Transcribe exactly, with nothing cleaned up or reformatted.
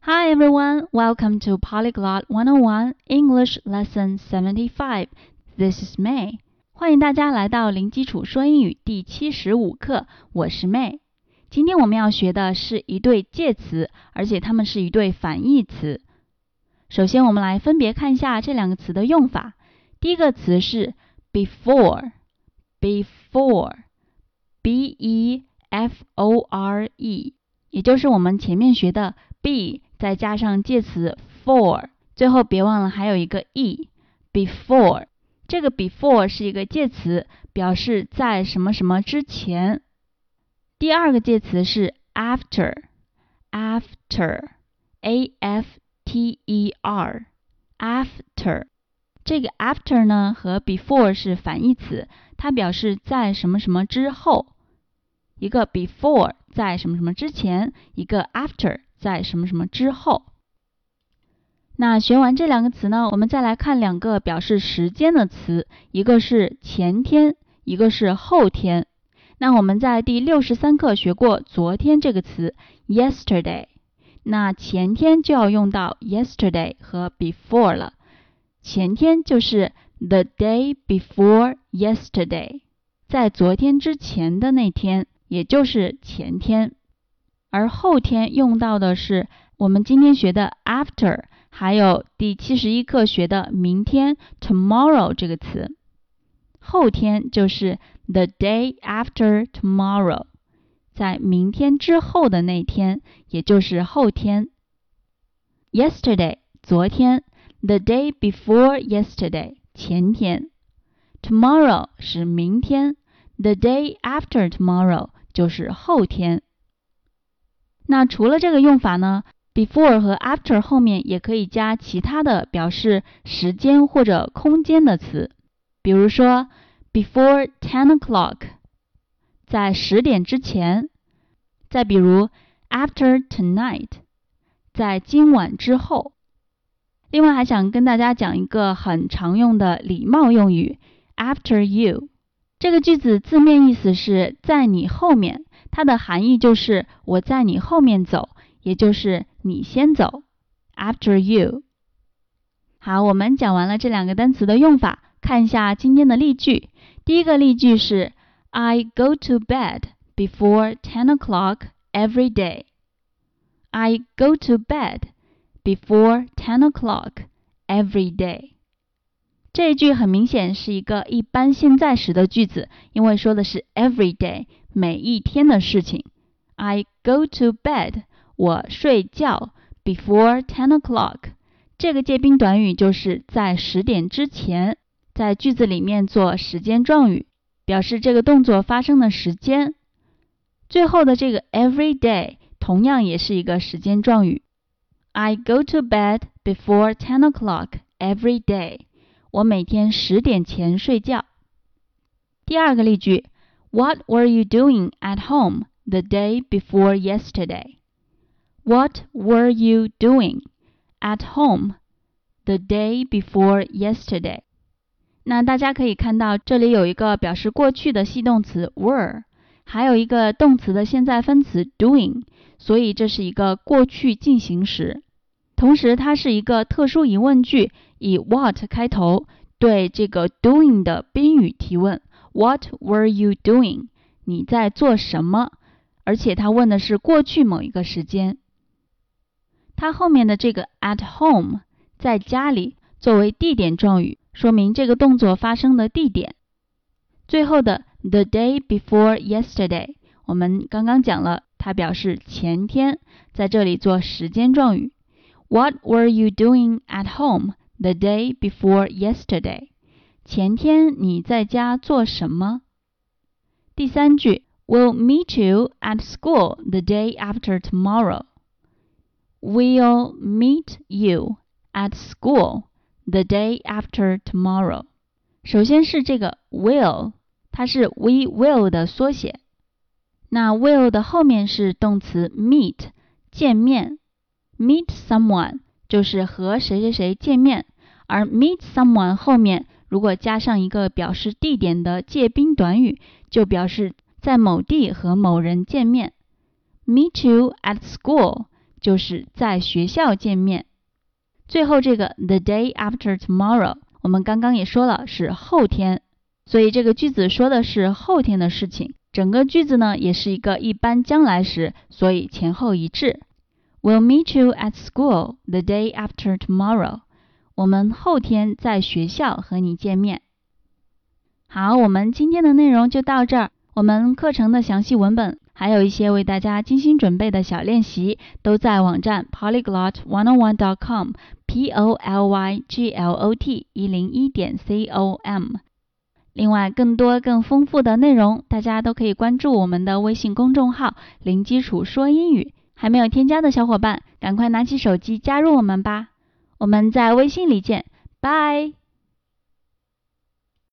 Hi everyone, welcome to Polyglot one oh one English Lesson seventy-five. This is May. 欢迎大家来到零基础说英语第七十五课，我是 May。今天我们要学的是一对介词，而且它们是一对反义词。首先我们来分别看一下这两个词的用法。第一个词是 before, before, B E F O R E， 也就是我们前面学的 be 再加上介词 for， 最后别忘了还有一个 e， before。这个 before 是一个介词，表示在什么什么之前。第二个介词是 after, after, A F T E R, after。这个 after 呢和 before 是反义词，它表示在什么什么之后。一个 before 在什么什么之前，一个 after 在什么什么之后。那学完这两个词呢，我们再来看两个表示时间的词，一个是前天，一个是后天。那我们在第六十三课学过昨天这个词 yesterday， 那前天就要用到 yesterday 和 before 了。前天就是 the day before yesterday， 在昨天之前的那天，也就是前天。而后天用到的是我们今天学的 after， 还有第七十一课学的明天 tomorrow 这个词。后天就是 the day after tomorrow， 在明天之后的那天，也就是后天。yesterday 昨天， the day before yesterday 前天， tomorrow 是明天， the day after tomorrow 就是后天。那除了这个用法呢， before 和 after 后面也可以加其他的表示时间或者空间的词，比如说 before ten o'clock， 在十点之前。再比如 after tonight， 在今晚之后。另外还想跟大家讲一个很常用的礼貌用语 after you。 这个句子字面意思是在你后面，它的含义就是我在你后面走，也就是你先走 after you。 好，我们讲完了这两个单词的用法，看一下今天的例句。第一个例句是 I go to bed before ten o'clock every day. I go to bed before ten o'clock every day. 这一句很明显是一个一般现在时的句子，因为说的是 every day， 每一天的事情。I go to bed， 我睡觉 before ten o'clock， 这个介宾短语就是在十点之前，在句子里面做时间状语，表示这个动作发生的时间。最后的这个 every day 同样也是一个时间状语。I go to bed before ten o'clock every day， 我每天十点前睡觉。第二个例句 What were you doing at home the day before yesterday? What were you doing at home the day before yesterday? 那大家可以看到这里有一个表示过去的系动词 were， 还有一个动词的现在分词 doing， 所以这是一个过去进行时。同时它是一个特殊疑问句，以 what 开头，对这个 doing 的宾语提问。 What were you doing？ 你在做什么？而且它问的是过去某一个时间。它后面的这个 at home 在家里作为地点状语，说明这个动作发生的地点。最后的 the day before yesterday 我们刚刚讲了，它表示前天，在这里做时间状语。What were you doing at home the day before yesterday? 前天你在家做什么？第三句 We'll meet you at school the day after tomorrow. We'll meet you at school the day after tomorrow. 首先是这个 will， 它是 we will 的缩写。那 will 的后面是动词 meet， 见面。Meet someone 就是和谁谁谁见面，而 meet someone 后面如果加上一个表示地点的介宾短语，就表示在某地和某人见面。Meet you at school 就是在学校见面。最后这个 the day after tomorrow， 我们刚刚也说了是后天，所以这个句子说的是后天的事情。整个句子呢也是一个一般将来时，所以前后一致。We'll meet you at school the day after tomorrow。我们后天在学校和你见面。好，我们今天的内容就到这儿。我们课程的详细文本，还有一些为大家精心准备的小练习，都在网站 polyglot one oh one dot com P O L Y G L O T 一零一点 C O M。另外，更多更丰富的内容，大家都可以关注我们的微信公众号“零基础说英语”。还没有添加的小伙伴，赶快拿起手机加入我们吧。我们在微信里见，拜。